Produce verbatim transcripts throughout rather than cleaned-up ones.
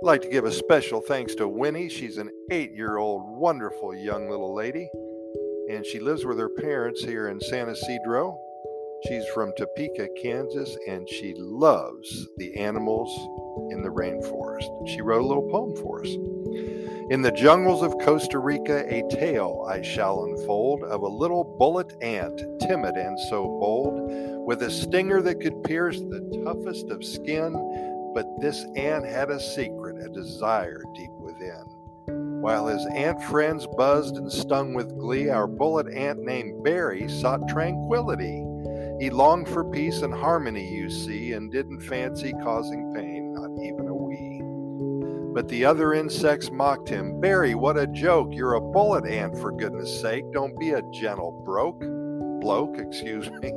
like to give a special thanks to Winnie. She's an eight-year-old, wonderful young little lady, and she lives with her parents here in San Ysidro. She's from Topeka, Kansas, and she loves the animals in the rainforest. She wrote a little poem for us. In the jungles of Costa Rica, a tale I shall unfold of a little bullet ant, timid and so bold, with a stinger that could pierce the toughest of skin. But this ant had a secret, a desire deep within. While his ant friends buzzed and stung with glee, our bullet ant named Barry sought tranquility. He longed for peace and harmony, you see, and didn't fancy causing pain, not even a wee. But the other insects mocked him. Barry, what a joke! You're a bullet ant, for goodness sake. Don't be a gentle broke. Bloke, excuse me.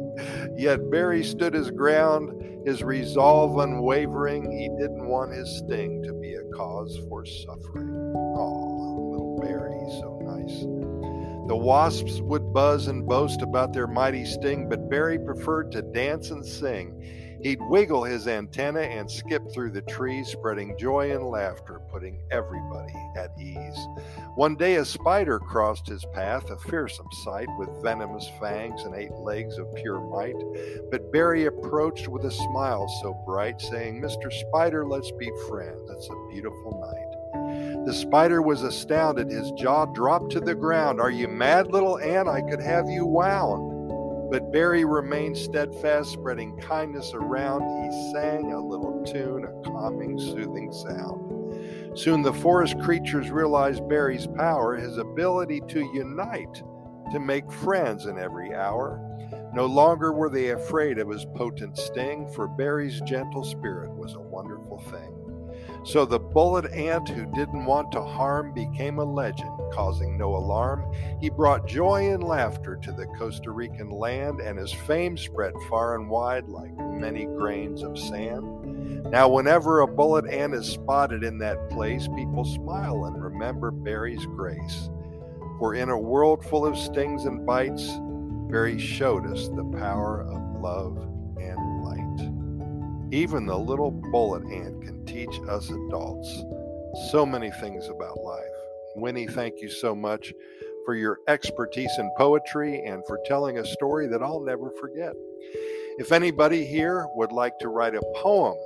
Yet Barry stood his ground, his resolve unwavering. He didn't want his sting to be a cause for suffering. Oh, little Barry, so nice. The wasps would buzz and boast about their mighty sting, but Barry preferred to dance and sing. He'd wiggle his antenna and skip through the trees, spreading joy and laughter, putting everybody at ease. One day a spider crossed his path, a fearsome sight, with venomous fangs and eight legs of pure might. But Barry approached with a smile so bright, saying, Mister Spider, let's be friends. It's a beautiful night. The spider was astounded. His jaw dropped to the ground. Are you mad, little ant? I could have you wound. But Barry remained steadfast, spreading kindness around. He sang a little tune, a calming, soothing sound. Soon the forest creatures realized Barry's power, his ability to unite, to make friends in every hour. No longer were they afraid of his potent sting, for Barry's gentle spirit was a wonderful thing. So the bullet ant who didn't want to harm became a legend, causing no alarm. He brought joy and laughter to the Costa Rican land, and his fame spread far and wide like many grains of sand. Now whenever a bullet ant is spotted in that place, people smile and remember Barry's grace. For in a world full of stings and bites, Barry showed us the power of love and light. Even the little bullet ant can teach us adults so many things about life. Winnie, thank you so much for your expertise in poetry and for telling a story that I'll never forget. If anybody here would like to write a poem,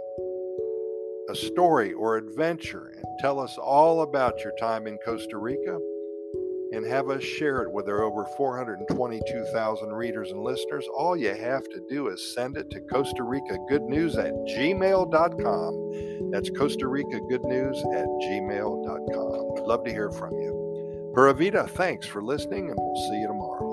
a story, or adventure and tell us all about your time in Costa Rica and have us share it with our over four hundred twenty-two thousand readers and listeners, all you have to do is send it to Costa Rica Good News at gmail dot com. That's Costa Rica Good News at gmail dot com. I'd love to hear from you. Pura Vida, thanks for listening, and we'll see you tomorrow.